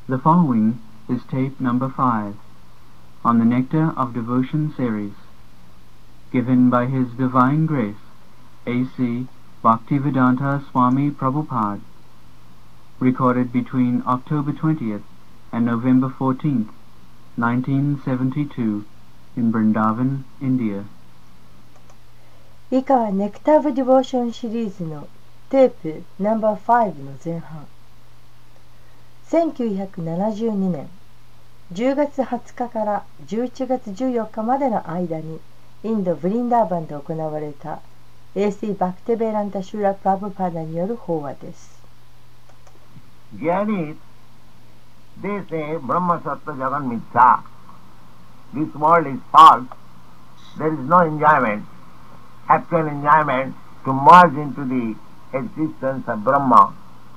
The following is tape number 5 on the Nectar of Devotion series, given by His Divine Grace, A.C. Bhaktivedanta Swami Prabhupada, recorded between October 20th and November 14th, 1972, in Vrindavan, India. 以下はネクター・オブ・ディボーションシリーズのテープナンバー5の前半。1972年10月20日から11月14日までの間にインド・ブリンダーバンで行われた A.C. バクテベランタ・シューラ・プラブパーダによる法話です。 Jainis, they say Brahma Sattva Jagan Mithya. This world is false. There is no enjoyment, actual enjoyment to merge into the existence of Brahma.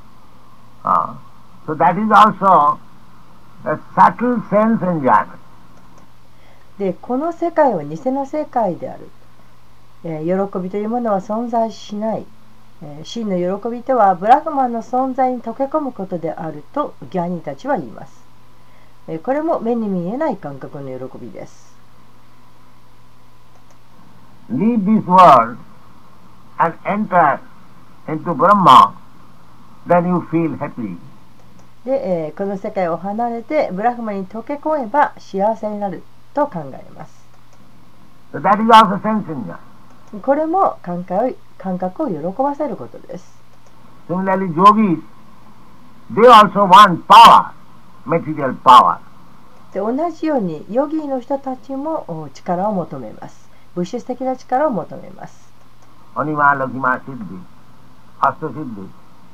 So that is also a subtle sense enjoyment. で、この世界は偽の世界である。喜びというものは存在しない。真の喜びとはブラフマンの存在に溶け込むことであるとギャニーたちは言います。これも目に見えない感覚の喜びです。 Leave this world and enter into Brahma, then you feel happy. で、この世界を離れてブラフマンに溶け込めば幸せになると考えます。 So that is also sense enjoyment. これも感覚を喜ばせることです。 Similarly, yogis, they also want power, material power. で、同じようにヨギーの人たちも力を求めます。物質的な力を求めます。 Anima, Lakshma, Siddhi, Asta Siddhi.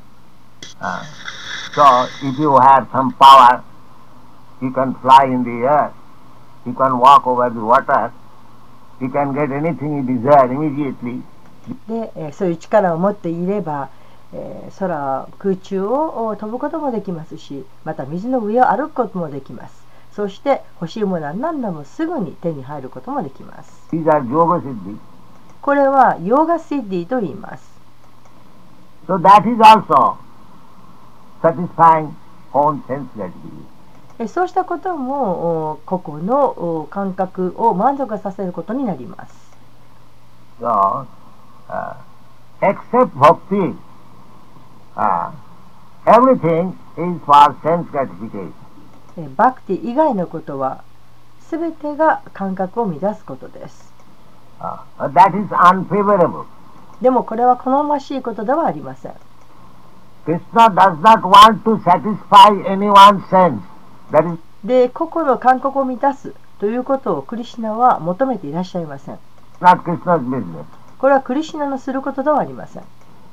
So, if you have some power, you can fly in the air, you can walk over the water, you can get anything you desire immediately. で、そういう力を持っていれば、空中を飛ぶこともできますし、また水の上を歩くこともできます。そして欲しいものは何でもすぐに手に入ることもできます。 These are Yoga Siddhi. これはヨーガシッディと言います。 So that is also satisfying own sense gratification. そうしたことも個々の感覚を満足させることになります。 So, except bhakti, everything is for sense gratification. バクティ以外のことはすべてが感覚を乱すことです。 That is unfavorable. でもこれは好ましいことではありません。 Krishna does not want to satisfy anyone's sense. That is で、個々の感覚を満たすということをクリシュナは求めていらっしゃいません。 not Krishna's business. これはクリシュナのすることではありません。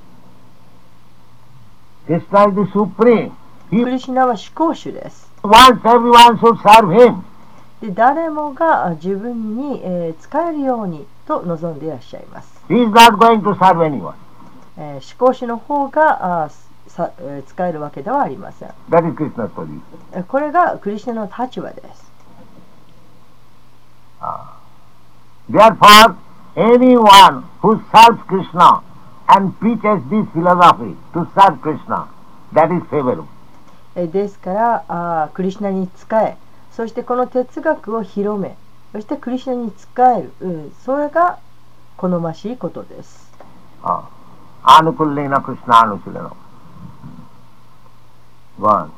Krishna is the supreme. クリシュナは至高主です。 He wants everyone should serve him. で、誰もが自分に使えるようにと望んでいらっしゃいます。 He is not going to serve anyone. 至高主の方が使えるわけではありません。 That is Krishna's position. これがクリシュナの立場です。 Therefore, anyone who serves Krishna and preaches this philosophy to serve Krishna, that is favorable. ですからクリシュナに仕え、そしてこの哲学を広め、そしてクリシュナに仕える、それが好ましいことです。 Anukullena Krishna Anukulena. Go on.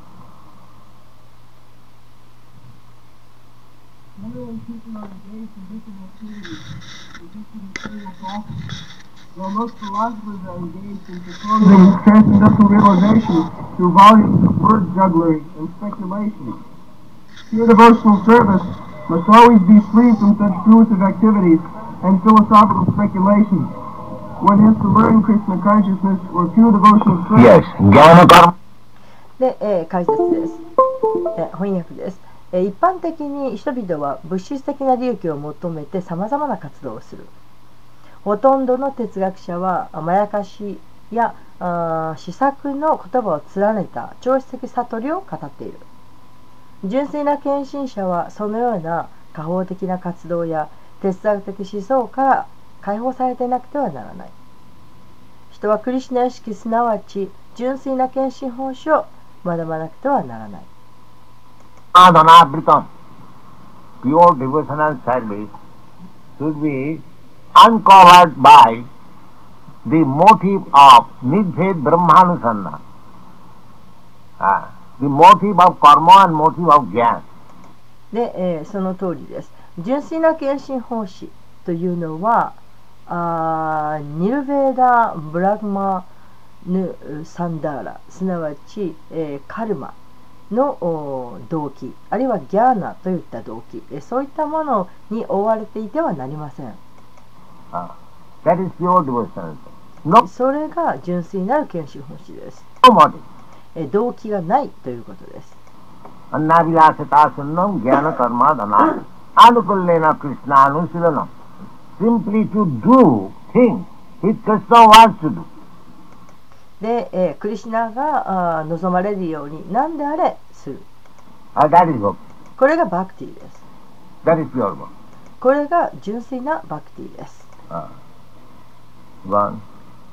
Literally, people are engaged in different activities, resisting material practice. While most philosophers are engaged in proposing transcendental realization through volumes of word jugglery and speculation. Pure devotional service must always be free from such fruitive activities and philosophical speculations. One has to learn Krishna consciousness or pure devotional service. Yes, Jnana Karma. で、解説です。翻訳です。一般的に人々は物質的な利益を求めてさまざまな活動をする。ほとんどの哲学者はまやかしや思索の言葉を連ねた超越的悟りを語っている。純粋な献身者はそのような果報的な活動や哲学的思想から解放されていなくてはならない。人はクリシュナ意識すなわち純粋な献身奉仕を学ばなくてはならない。 Sadhana Britam, pure devotional service, should be uncovered by the motive of Nidbhed Brahmanusandhana, the motive of karma and motive of jnana. で、その通りです。純粋な献身奉仕というのはニルベーダ・ブラグマヌ・サンダーラ、すなわち、カルマの動機、あるいはギャーナといった動機、そういったものに覆われていてはなりません。 That is pure devotion. No, それが純粋なる献身奉仕です。 no motive. 動機がないということです。 Annavilasata sunnam jnana karma dana anukullena krishna anusilanam. Simply to do things which Krishna wants to do. で、クリシュナが望まれるように何であれする。 That is bhakti. これがバクティです。 That is pure bhakti. これが純粋なバクティです。 One.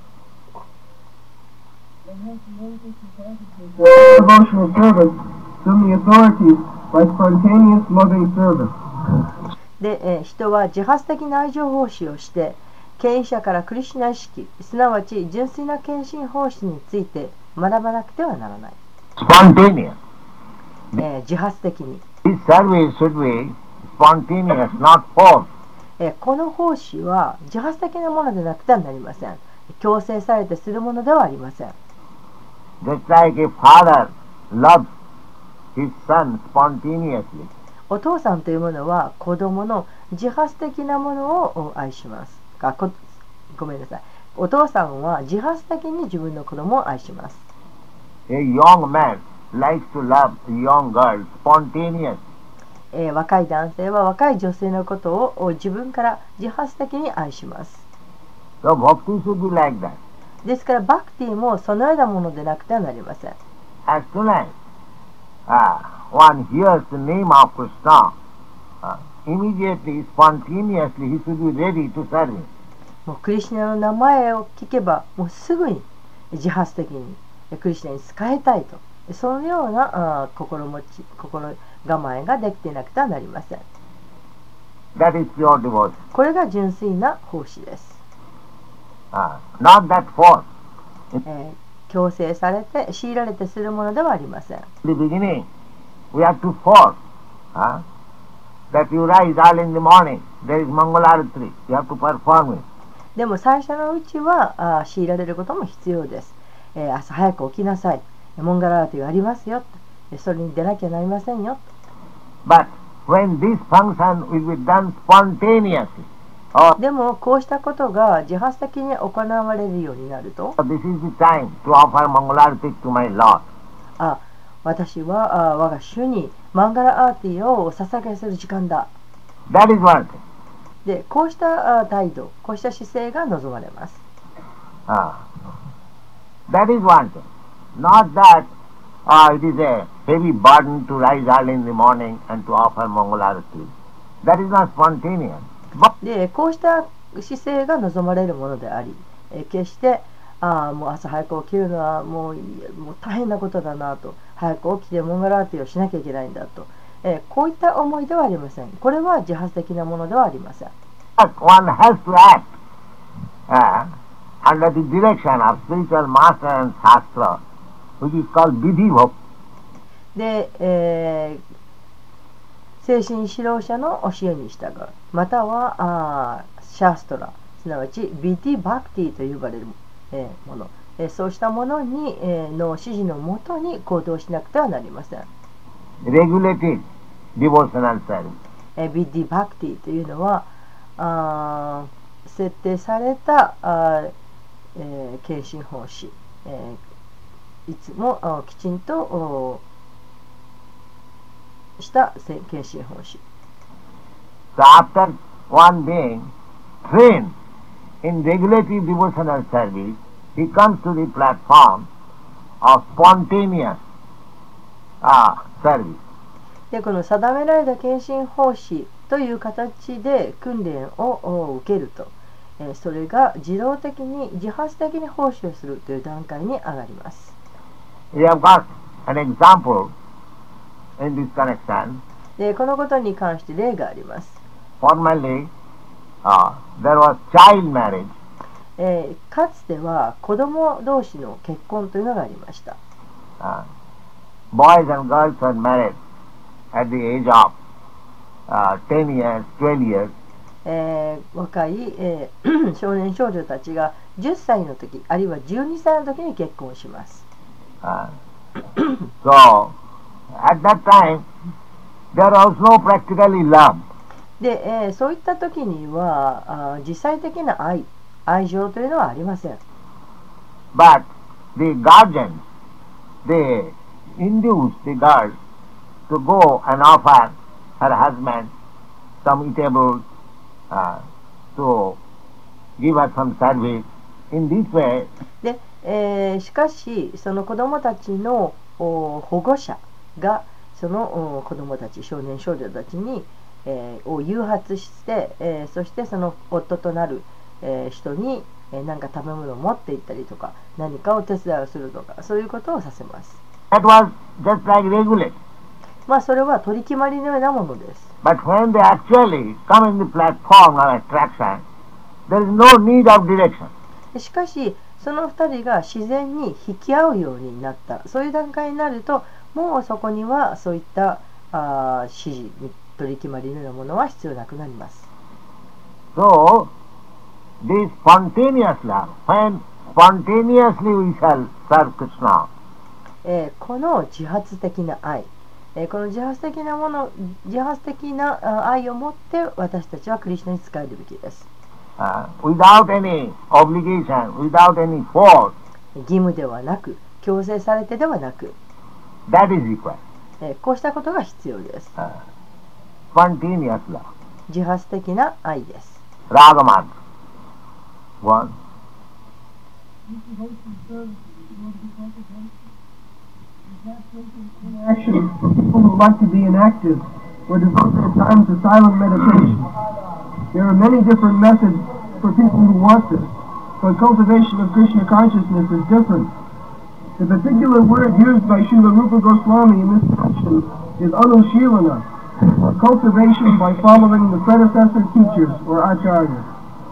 Devotional service from the authorities by spontaneous loving service. で、人は自発的な愛情奉仕をして権威者からクリシュナ意識、すなわち純粋な献身奉仕について学ばなくてはならない。 Spontaneous. 自発的に。 This service should be spontaneous, not forced. この奉仕は自発的なものでなくてはなりません。強制されてするものではありません。 Just like a father loves his son spontaneously. お父さんというものは子供の自発的なものを愛します。ごめんなさい。お父さんは自発的に自分の子供を愛します。 A young man likes to love a young girl spontaneously. 若い男性は若い女性のことを自分から自発的に愛します。 So bhakti should be like that. ですからバクティもそのようなものでなくてはなりません。 As soon as one hears the name of Krishna, immediately, spontaneously, he should be ready to serve him. もうクリシュナの名前を聞けばもうすぐに自発的にクリシュナに仕えたいと、そのような心構えができていなくてはなりません。 That is pure devotion. これが純粋な奉仕です。 Not that force. 強制されて強いられてするものではありません。 In the beginning, we have to force that you rise early in the morning. There is Mangalarati. You have to perform it. でも最初のうちは強いられることも必要です。朝早く起きなさい。モンガラーティがありますよ。それに出なきゃなりませんよ。 But when this function will be done spontaneously, でもこうしたことが自発的に行われるようになると、 this is the time to offer Mangalarati to my Lord. 私は我が主にマンガラアーティをお捧げする時間だ。 That is one thing. で、こうした態度、こうした姿勢が望まれます。 That is one thing. Not that it is a heavy burden to rise early in the morning and to offer Mangalarati. That is not spontaneous. で、こうした姿勢が望まれるものであり、決してもう朝早く起きるのはもう大変なことだなと、早く起きてモンガラーティをしなきゃいけないんだと、こういった思いではありません。これは自発的なものではありません。 One has to act under the direction of spiritual master and shastra, which is called vidhi bhakti. で、精神指導者の教えに従う、またはシャーストラ、すなわちビディバクティと呼ばれるもの、そうしたものに、の指示のもとに行動しなくてはなりません。 Regulated devotional service. ビディバクティというのは設定された献身奉仕、いつもきちんとした献身奉仕。 So after one being trained in regulative devotional service, he comes to the platform of spontaneous service. で、この定められた献身奉仕という形で訓練を受けると、それが自動的に自発的に奉仕をするという段階に上がります。 We have got an example in this connection. でこのことに関して例があります。 Formerly, there was child marriage. かつては子供同士の結婚というのがありました。 Boys and girls were married at the age of 10 years, 12 years. 若い、少年少女たちが10歳の時あるいは12歳の時に結婚します。 So, at that time, there was no practically love. で、そういった時には実際的な愛情というのはありません。 But the guardians, they induced the girl to go and offer her husband some eatables, to give her some service. In this way, で、しかしその子どもたちの保護者がその子どもたち少年少女たちに、を誘発して、そしてその夫となる、人に何か食べ物を持って行ったりとか何かを手伝いをするとかそういうことをさせます。 that was just like regulate. それは取り決まりのようなものです。 But when they actually come in the platform of attraction, there is no need of direction. しかしその2人が自然に引き合うようになったそういう段階になるともうそこにはそういった指示取り決まりのようなものは必要なくなります。 So, this spontaneous love, when spontaneously we shall serve Krishna, この自発的な愛、この自発的な愛を持って私たちはクリシュナに仕えるべきです。 without any obligation, without any force, 義務ではなく強制されてではなく、 that is required. こうしたことが必要です。 Spontaneous love. 自発的な愛です。 Ragamarg. One. Action for people who like to be inactive or devote their time to silent meditation. There are many different methods for people who want this, but cultivation of Krishna consciousness is different. The particular word used by Srila Rupa Goswami in this section is anushilana, or cultivation by following the predecessor teachers or acharyas.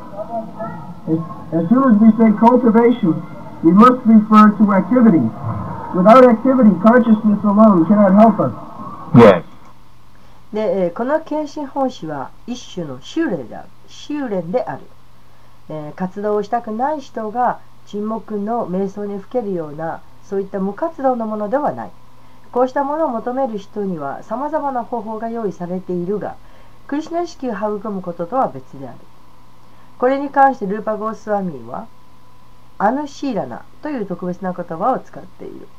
As soon as we say cultivation, we must refer to activity. Without activity, consciousness alone cannot help us. Yes. で、この献身奉仕は一種の修練である。活動をしたくない人が沈黙の瞑想にふけるようなそういった無活動のものではない。こうしたものを求める人にはさまざまな方法が用意されているが、クリシュナ意識を育むこととは別である。これに関してルーパ・ゴースワミーはアヌシーラナという特別な言葉を使っている。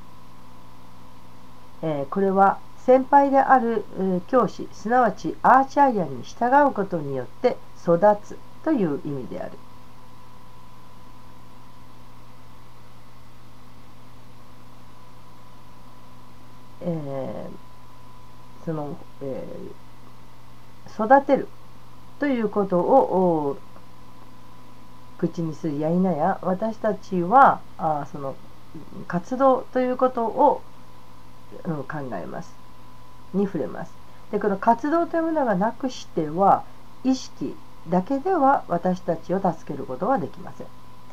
これは先輩である教師すなわちアーチャーヤに従うことによって育つという意味である。育てるということを口にするや否や私たちはその活動ということを、考えますに触れます。でこの活動というものがなくしては意識だけでは私たちを助けることはできません。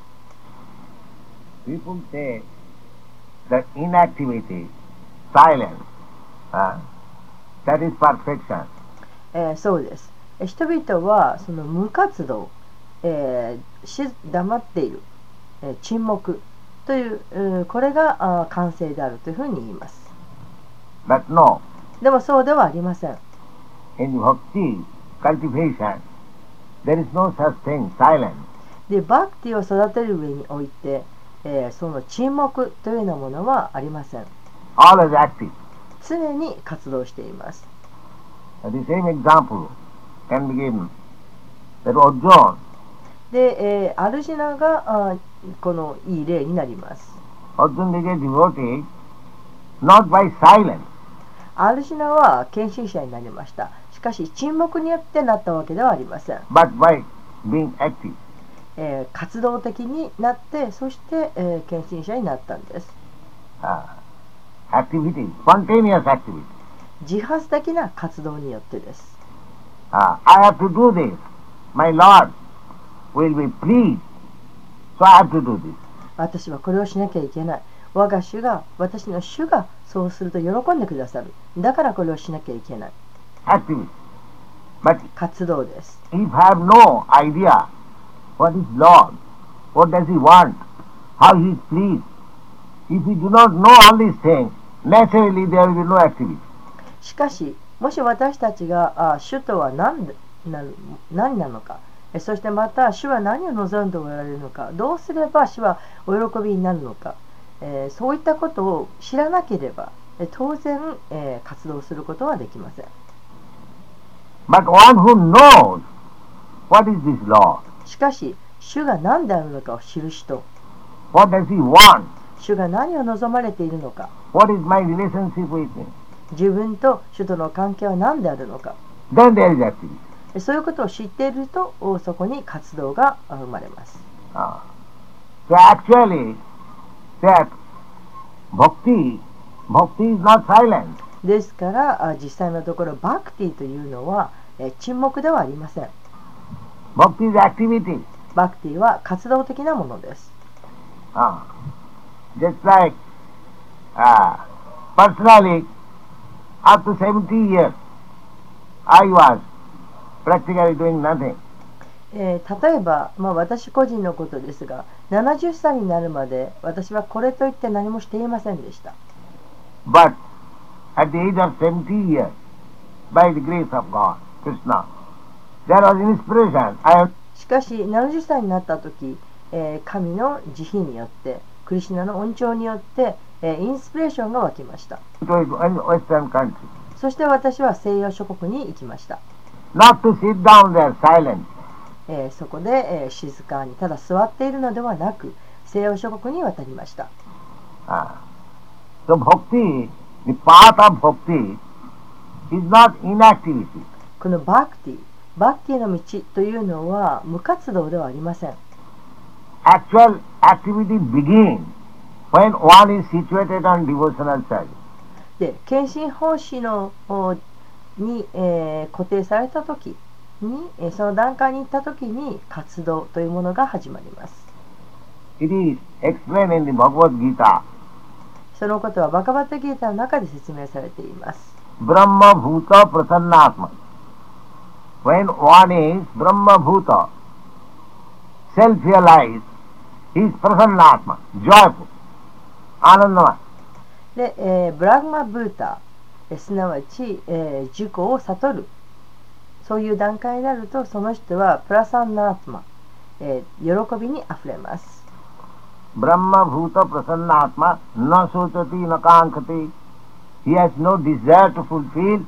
People say that inactivity, silence, that is perfection. そうです。人々はその無活動、黙っている、沈黙という、これが完成であるというふうに言います。 But no. でもそうではありません。 In bhakti cultivation, there is no such thing, silence. で、バクティを育てる上において、その沈黙というようなものはありません。 Always active. 常に活動しています。 The same example can be given that Arjuna. で、アルジナがこのいい例になります。 Arjuna became devotee not by silence. アルジナは献身者になりました。しかし沈黙によってなったわけではありません。 But by being active. 活動的になってそして、献身者になったんです。 Activity, spontaneous activity. 自発的な活動によってです。 I have to do this. My Lord will be pleased. So I have to do this. 私はこれをしなきゃいけない。我が主が、私の主がそうすると喜んでくださる。だからこれをしなきゃいけない。 Activity. But 活動です。 if I have no idea what is Lord, what does He want, how He is pleased, if we do not know all these things, naturally there will be no activity. しかし、もし私たちが主とは何なのか、そしてまた主は何を望んでおられるのか、どうすれば主はお喜びになるのか、そういったことを知らなければ、当然、活動することはできません。 But one who knows what is this Lord, しかし、主が何であるのかを知る人、 what does He want, 主が何を望まれているのか、 what is my relationship with Him, 自分と主との関係は何であるのか、 then there is activity. そういうことを知っていると、そこに活動が生まれます。 So actually, that bhakti is not silent. ですから、実際のところ、バクティというのは沈黙ではありません。 Bhakti is activity. バクティは活動的なものです。 Just like personally, up to 70 years, I was practically doing nothing. 例えば、私個人のことですが、70歳になるまで私はこれといって何もしていませんでした。 But at the age of 70 years, by the grace of God, Krishna, there was inspiration. しかし、70歳になった時、神の慈悲によって、クリシュナの恩寵によって、インスピレーションが湧きました。 Western country. そして私は西洋諸国に行きました。 Not to sit down there silent. そこで、静かにただ座っているのではなく、西洋諸国に渡りました。 So bhakti, the path of bhakti is not inactivity. このバクティの道というのは無活動ではありません。 Actual activity begins when one is situated on devotional service. で、献身奉仕に、固定された時に、その段階に行った時に活動というものが始まります。 It is explained in the Bhagavad Gita. そのことはバガバッタギータの中で説明されています。 Brahma Bhuta Prasannatma. When one is Brahma Bhuta, self-realized, he is Prasannatma, joyful, Anandamaya. で、ブラグマブータ、すなわち、自己を悟る、そういう段階になると、その人はプラサンナートマ、喜びにあふれます。 Brahma Bhuta Prasannatma na sochati na kankati. He has no desire to fulfill,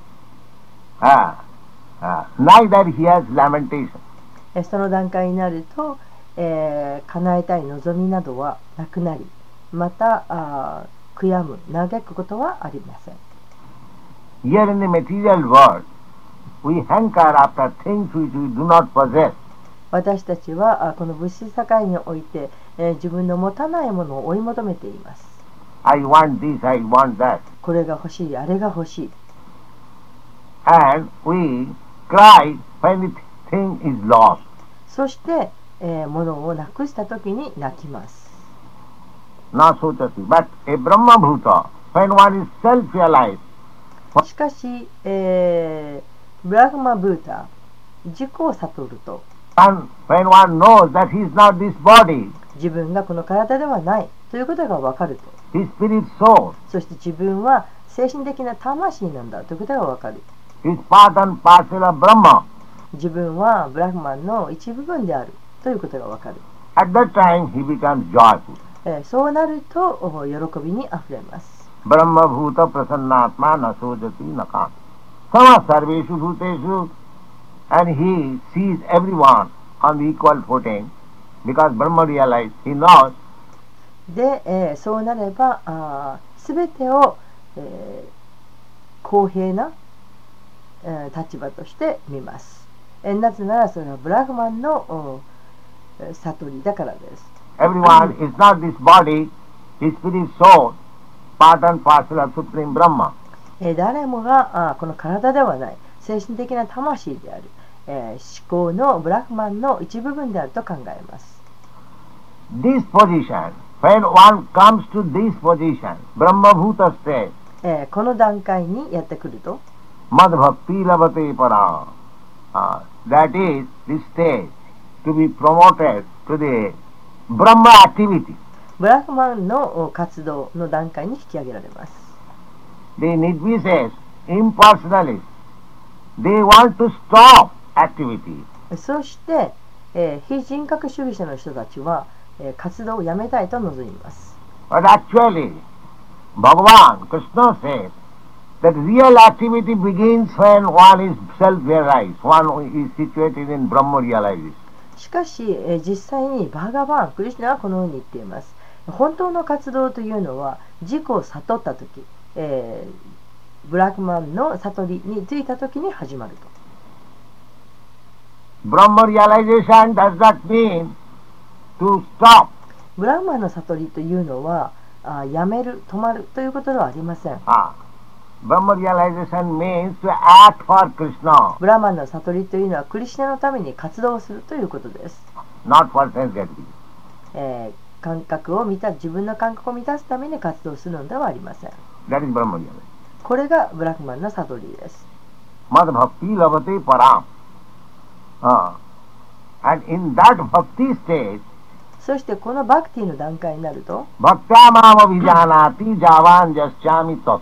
neither he has lamentation. その段階になると、叶えたい望みなどはなくなり、また悔やむ、嘆くことはありません。 Here in the material world, we hanker after things which we do not possess. 私たちはこの物質社会において、自分の持たないものを追い求めています。 I want this, I want that. これが欲しい、あれが欲しい。 And we cry when the thing is lost. そして、物をなくしたときに泣きます。 Na sochati. But a Brahma Bhuta, when one is self-realized. しかし、ブラグマブータ、自己を悟ると、 And when one knows that he is not this body, 自分がこの体ではないということが分かると、 his spirit soul, そして自分は精神的な魂なんだということが分かる。 is part and parcel of Brahma. 自分はブラグマンの一部分であるということが分かる。 At that time he becomes joyful. そうなると喜びにあふれます。 Brahma Bhuta Prasannatma na sojati na kam. Sama sarveshu bhuteshu. And he sees everyone on the equal footing because Brahma realized, he knows. で、そうなればすべてを、公平な、立場として見ます。なぜならそれはブラグマンの悟りだからです。 Everyone is not this body, his spirit soul, part and parcel of Supreme Brahma. 誰もがこの体ではない精神的な魂である、思考のブラフマンの一部分であると考えます。 This position, when one comes to this position, Brahma Bhuta state, この段階にやってくると、 Mad Bhakti Lavate Para, that is the stage to be promoted to the Brahma activity. ブラフマンの活動の段階に引き上げられます。 The Nirvises, impersonalists, they want to stop activity. そして、非人格主義者の人たちは、活動をやめたいと望みます。 But actually, Bhagavan Krishna says that real activity begins when one is self-realized, one is situated in Brahma realization. しかし、実際にバーガバン、クリシュナはこのように言っています。本当の活動というのは自己を悟ったとき、ブラックマンの悟りについたときに始まると。 Brahma realization does not mean to stop. ブラックマンの悟りというのはやめる、止まるということではありません。 Brahma realization means to act for Krishna. ブラックマンの悟りというのはクリシュナのために活動をするということです。 Not for sense gratification. 感覚を自分の感覚を満たすために活動するのではありません。 That is Brahma realization. これがブラックマンの悟りです。 Mad Bhakti Lavate Param. And in that Bhakti state, そしてこのバクティの段階になると、 Bhaktyamam Abhijanati Javan Jasyami Tattva.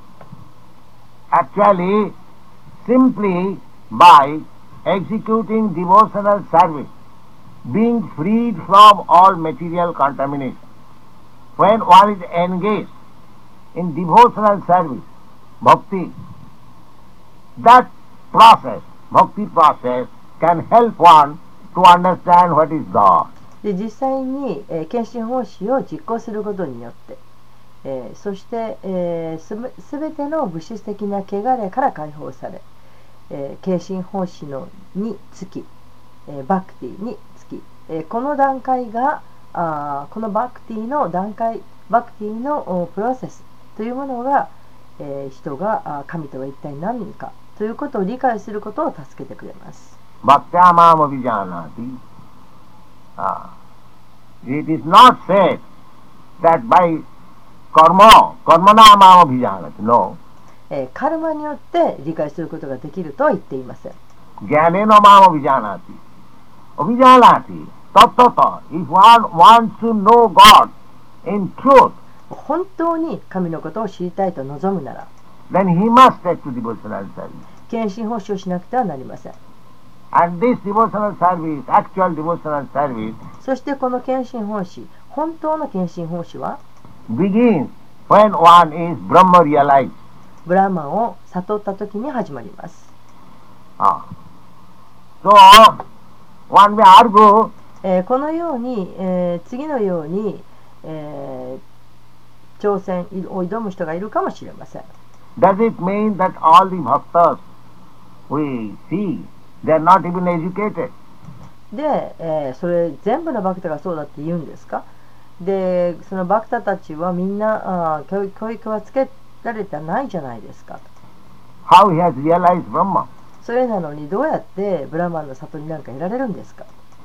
Actually, simply by executing devotional service, being freed from all material contamination, when one is engaged in devotional service, bhakti, that process, bhakti process, can help one to understand what is God. で実際に、献身奉仕を実行することによって、そして、すべての物質的な汚れから解放され、献身奉仕につき、バクティにつき、この段階がこのバクティの段階、バクティのプロセスというものが、人が神とは一体何かということを理解することを助けてくれます。 Bhaktyamam Abhijanati. It is not said that by karmanamam abhijanati. No. カルマによって理解することができるとは言っていません。 Jnanenamam abhijanati. Abhijanati. Tattata. If one wants to know God in truth, 本当に神のことを知りたいと望むなら、 then he must take to devotional service. 献身奉仕をしなくてはなりません。 And this devotional service, actual devotional service, そしてこの献身奉仕、本当の献身奉仕は begins when one is Brahma realized. ブラーマンを悟った時に始まります。 So, one may argue, このように、次のように、挑戦を挑む人がいるかもしれません。 does it mean that all the bhaktas we see, they are not even educated? で、それ全部のバクタがそうだって言うんですか？で、そのバクタたちはみんな教育はつけられてないじゃないですか。 How he has realized Brahma? それなのにどうやってブラマンの悟りなんか得られるんですか？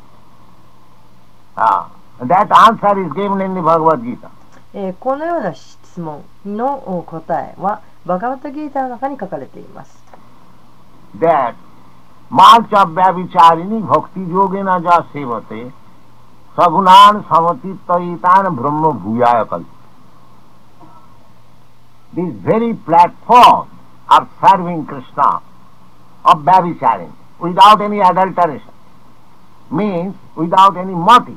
That answer is given in the Bhagavad Gita. このような質問の答えはバガバッタギータの中に書かれています。 That Malchabhyavicharini bhakti yogena ja sevate sagunan samatittaitan brahma bhuyaya kalpa. This very platform of serving Krishna, of Vyabhicharini, without any adulteration, means without any motive.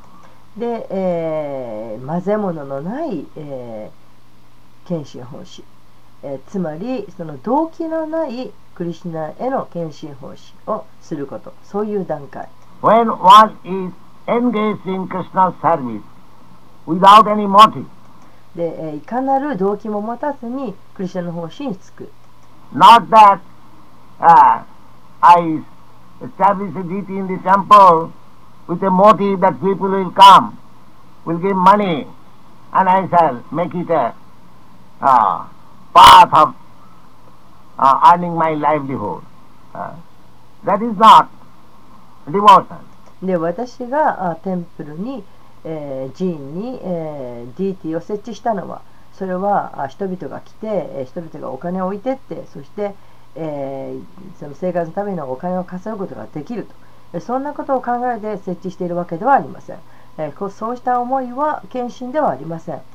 で、混ぜ物のない、献身奉仕、つまりその動機のないクリシュナへの献身奉仕をすること、そういう段階。 When one is engaged in Krishna's service without any motive, で、いかなる動機も持たずにクリシュナの奉仕につく。 not that I establish a deity in the temple with a motive that people will come, will give money, and I shall make it a path of earning my livelihood. That is not devotion. で、私がテンプルに、寺院に、ディーティを設置したのは、それは人々が来て、人々がお金を置いてって、そして、その生活のためのお金を稼ぐことができると、そんなことを考えて設置しているわけではありません。そうした思いは献身ではありません。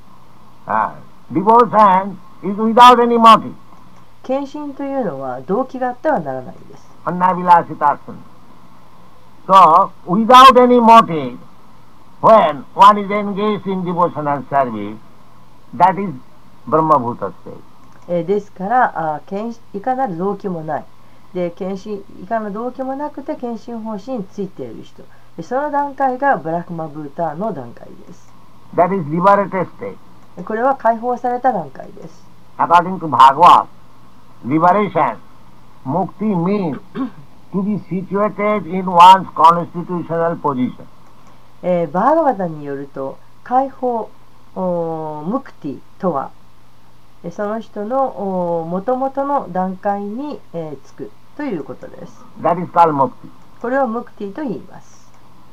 Devotion is without any motive. 献身というのは動機があってはならないです。 Annavilasitasana. So, without any motive, when one is engaged in devotional service, that is Brahma-bhuta state. ですからいかなる動機もない。で、いかなる動機もなくて献身方針についている人。その段階がブラクマブーターの段階です。 That is liberated state. これは解放された段階です。 According to Bhagavad, liberation, mukti means to be situated in one's constitutional position. バーガバタによると、解放、ムクティとは、その人の元々の段階につくということです。 That is called mukti. これをムクティと言います。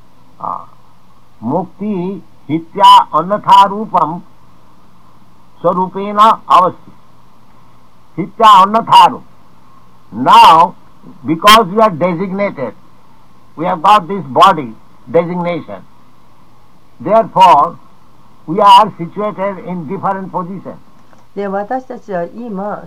Mukti hitya annatha rupam sarupena avasti. Hitya annatha rup. Now, because we are designated, we have got this body designation. Therefore, we are situated in different positions. で、私たちは今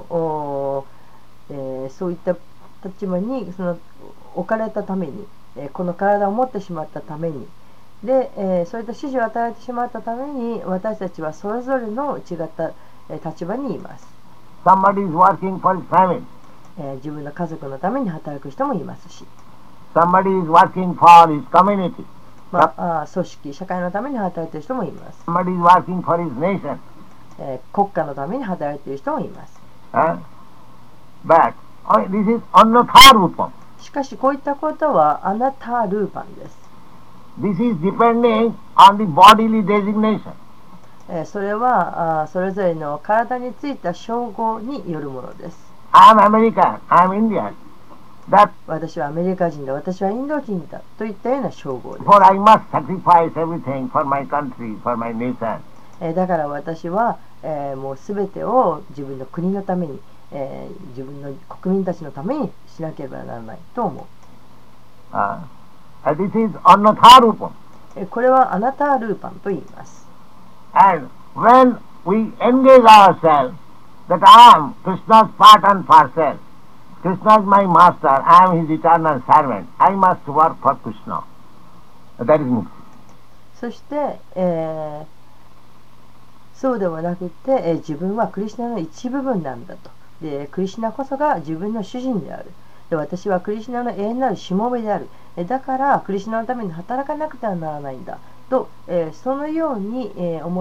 そういった立場に置かれたために、この体を持ってしまったために、で、そういった指示を与えてしまったために、私たちはそれぞれの違った立場にいます。 Somebody is working for his family. 自分の家族のために働く人もいますし、 Somebody is working for his community. 組織、社会のために働いている人もいます。 Somebody is working for his nation. 国家のために働いている人もいます。 But this is annatha rupam. しかし、こういったことはアナタールーパンです。 This is depending on the bodily designation. それはそれぞれの体についた称号によるものです。 I am American, I am Indian. That 私はアメリカ人だ、私はインド人だといったような称号です。 for I must sacrifice everything for my country, for my nation. だから私は、もうすべてを自分の国のために、自分の国民たちのためにしなければならないと思う。 This is annatha rupam. これはアナタールーパンと言います。 And when we engage ourselves that I am Krishna's part and parcel, Krishna is my master, I am his eternal servant, I must work for Krishna. That is mukti. そして、そうではなくて、自分はクリシュナの一部分なんだと。で、クリシュナこそが自分の主人である。で、私はクリシュナの永遠なるしもべである。だからクリシュナのために働かなくてはならないんだと、そのように、思って、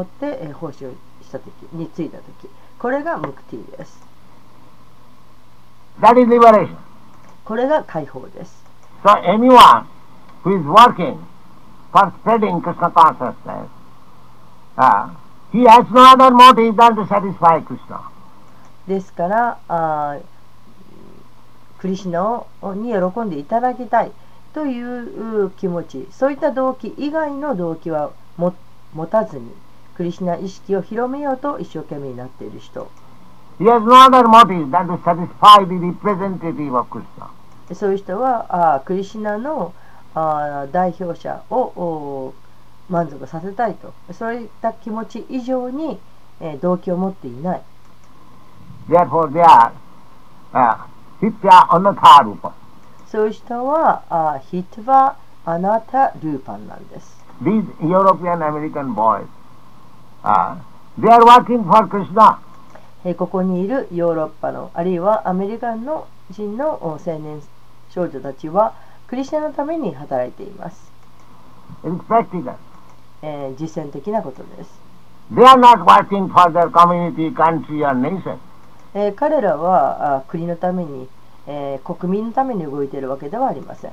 奉仕をした時についた時、これがムクティです。 That is liberation. これが解放です。 So anyone who is working for spreading Krishna consciousness, he has no other motive than to satisfy Krishna. ですからクリシュナに喜んでいただきたいという気持ち、そういった動機以外の動機は持たずにクリシュナ意識を広めようと一生懸命になっている人、 He has no other motive than to satisfy the representative of Krishna. そういう人はクリシュナの代表者を満足させたいと、そういった気持ち以上に動機を持っていない。 Therefore they are hitya annatha rupa. そういう人はヒトヴァアナタルーパンなんです。 These European American boys, they are working for Krishna. ここにいるヨーロッパのあるいはアメリカの人の青年少女たちはクリスチャンのために働いています。 It is practical. 実践的なことです。 They are not working for their community, country or nation. 彼らは国のために、国民のために動いているわけではありません。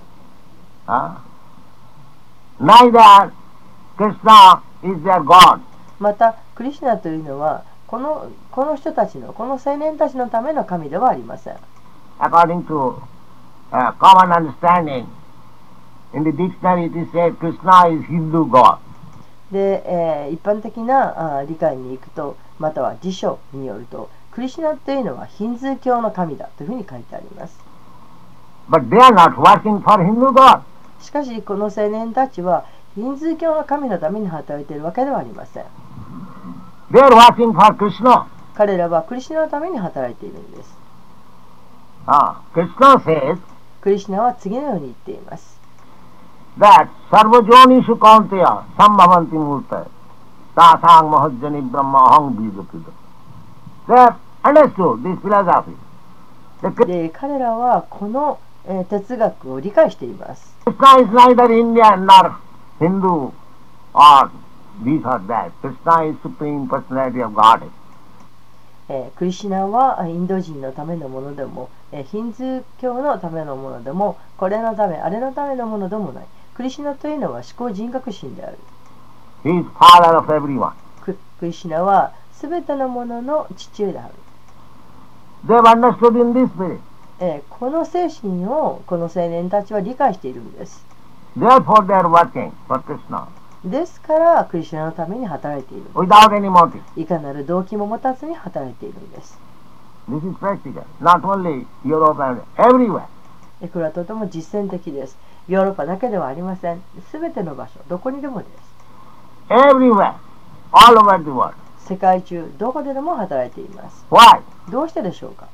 Neither Krishna is their God. またクリシュナというのはこの人たちの、この青年たちのための神ではありません。 According to common understanding, in the dictionary it is said Krishna is Hindu God. で、一般的な理解に行くと、または辞書によると、クリシュナというのはヒンズー教の神だというふうに書いてあります。 But they are not working for Hindu God. しかし、この青年たちはヒンズー教の神のために働いているわけではありません。 They are working for Krishna. 彼らはクリシュナのために働いているんです。 Krishna says クリシュナは次のように言っています。 that sarvajonishu kaunteya sambhavanti murtaya tasang mahajjani brahma aham bidapida. They have understood this philosophy. で、彼らはこの、哲学を理解しています。 Krishna is neither Indian nor Hindu or this or that. Krishna is Supreme Personality of Godhead. クリシュナはインド人のためのものでも、ヒンズー教のためのものでも、これのため、あれのためのものでもない。クリシュナというのは思考人格心である。 He is father of everyone. クリシュナはすべてのものの父である。 They have understood in this spirit. この精神をこの青年たちは理解しているんです。 Therefore they are working for Krishna. ですからクリシュナのために働いている。 Without any motive. いかなる動機も持たずに働いているんです。 This is practical. Not only Europe and everywhere. これはとても実践的です。ヨーロッパだけではありません。すべての場所、どこにでもです。 Everywhere. All over the world. 世界中、どこででも働いています。 Why? どうしてでしょうか。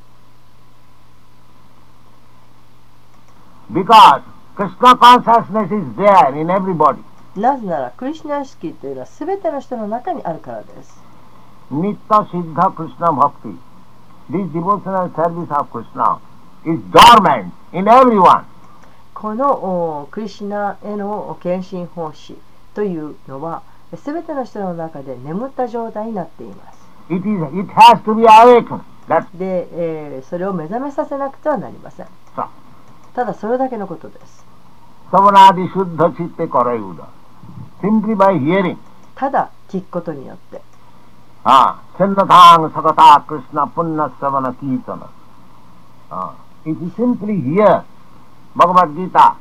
Because Krishna consciousness is there in everybody. なぜなら、クリシュナ意識というのはすべての人の中にあるからです。 Nitta Siddha Krishna Bhakti. This devotional service of Krishna is dormant in everyone. このクリシュナへの献身奉仕というのはすべての人の中で眠った状態になっています。 It has to be awakened. で、それを目覚めさせなくてはなりません。 So, ただそれだけのことです。 Savanadi Shuddha Chitte Karayuda. Simply by hearing. ただ聞くことによって。 Sennatang Sakata Krishna Punna Savana Kirtana. If you simply hear Bhagavad Gita,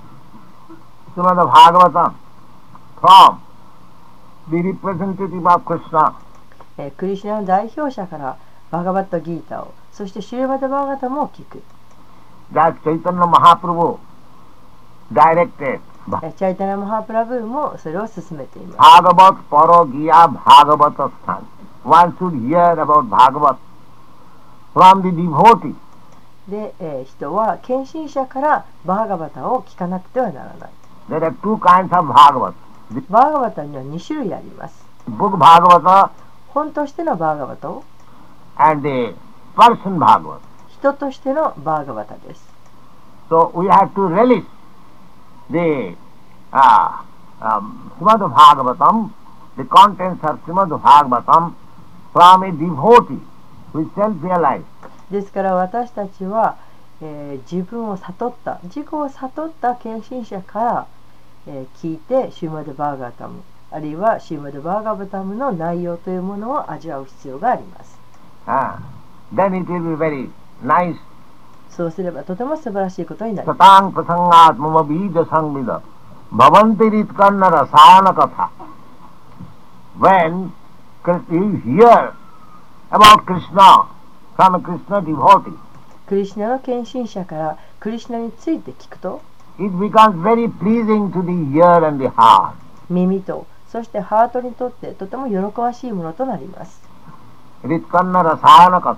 Srimad Bhagavatam from the representative of Krishna. クリシュナの代表者からバガバットギータを、そしてシュリマダバーガタムを聞く。 That Chaitanya Mahaprabhu directed. チャイタナ・マハプラブーもそれを進めています。 Bhagavat Parogiya Bhagavata Sthan. One should hear about Bhagavat from the devotee. で、人は献身者からバーガバタを聞かなくてはならない。 There are two kinds of Bhagavat. バーガバタには2種類あります。 Book Bhagavata 本としてのバーガバタを、 and the person Bhagavata. 人としてのバーガバタです。 So we have to relish the Srimad Bhagavatam, the contents of Srimad Bhagavatam from a devotee who is self-realized. ですから私たちは、自分を悟った、自己を悟った献身者から、聞いてシューマドバーガタム、あるいはシューマドバーガバタムの内容というものを味わう必要があります。 Then it will be very nice. そうすればとても素晴らしいことになります。 Satang prasangat mama bija sangvida bhavantirit kanna rasana katha. When you hear about Krishna from a Krishna devotee, クリシュナの献身者からクリシュナについて聞くと、 it becomes very pleasing to the ear and the heart. 耳とそしてハートにとってとても喜ばしいものとなります。 Ritkanna rasana katha.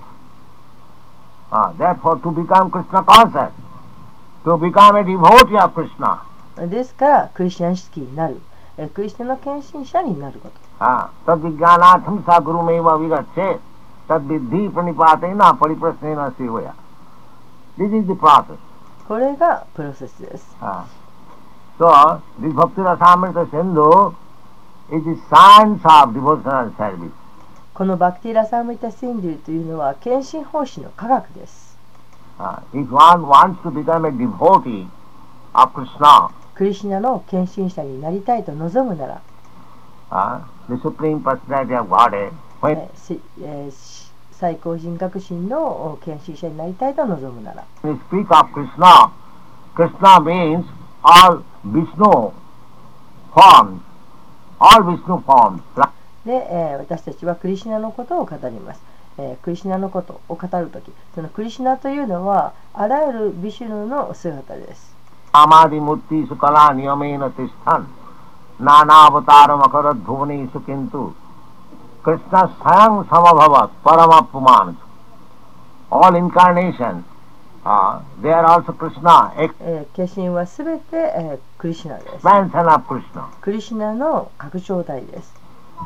Therefore, to become Krishna conscious, to become a devotee of Krishna. ですからクリシュナ意識になる、クリシュナの献身者になること。 Tadvijnanatham sa gurumeva vigache tadviddhi pranipatena pariprasnena sevaya. This is the process. これがプロセスです。 So, this Bhakti Rasamrita Sindhu is the science of devotional service. このバクティラサムリタ・シンドゥというのは献身奉仕の科学です。 If one wants to become a devotee of Krishna, クリシュナの献身者になりたいと望むなら、 the Supreme Personality of Godhead, When 最高人格心の献身者になりたいと望むなら。 we speak of Krishna, Krishna means all Vishnu forms, all Vishnu forms. で、私たちはクリシュナのことを語ります。クリシュナのことを語るとき、そのクリシュナというのはあらゆるビシュヌの姿です。 Amadi Murti Sukala Niyamena Tishtan Nana Avataram Akarat Bhuvani Sukintu Krishna Sayang Samabhavat Paramapuman. All incarnations, they are also Krishna, 化身はすべて、クリシュナです。 expansion of Krishna. クリシュナの拡張体です。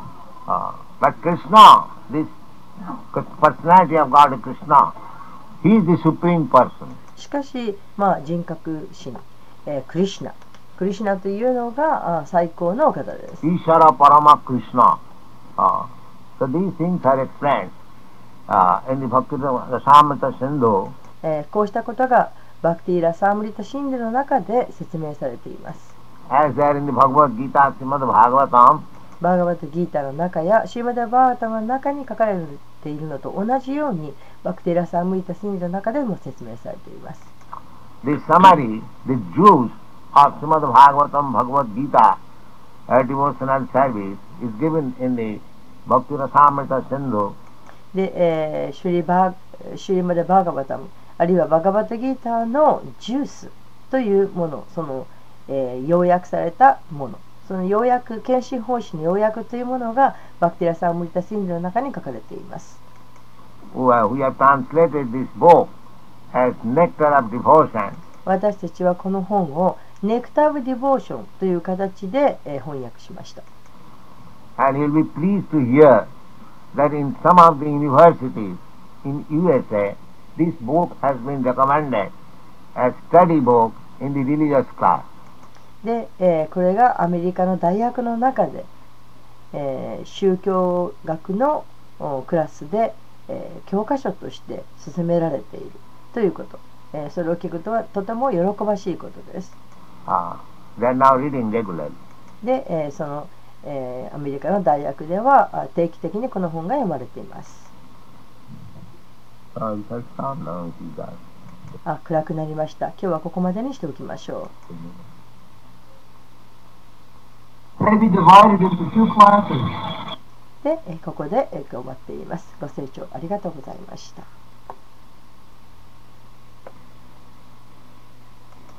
But Krishna, this personality of God Krishna, he is the supreme person. しかし、人格心、クリシュナ。クリシュナというのが最高のお方です。 Ishara Parama Krishna. So these things are explained in the Bhakti Rasamrita Sindhu. こうしたことがバクティ・ラサームリタ・シンドゥの中で説明されています。 As there in the Bhagavad Gita, Srimad Bhagavatam, バーガバタ・ギータの中やシーマダ・バーガタマの中に書かれているのと同じようにバクティ・ラサームリタ・シンドゥの中でも説明されています。 the summary, the juice of Srimad Bhagavatam, Bhagavad Gita, devotional service is given in the Bhakti Rasamrita Sindhu. で、シュリマダ・バーガバタムあるいはバガバタ・ギータのジュースというもの、その、要約されたもの、その要約、献身奉仕の要約というものがバクティラサームリタ・シンドゥの中に書かれています。 We have translated this book as Nectar of Devotion. 私たちはこの本をネクター・オブ・ディボーションという形で、翻訳しました。 And you'll be pleased to hear that in some of the universities in USA, this book has been recommended as study book in the religious class. で、これがアメリカの大学の中で、宗教学のクラスで、教科書として勧められているということ、それを聞くとはとても喜ばしいことです。 They are now reading regularly. で、その、アメリカの大学では定期的にこの本が読まれています。暗くなりました。今日はここまでにしておきましょう。 May be divided into two classes. で、ここで終わっています。ご清聴ありがとうございました。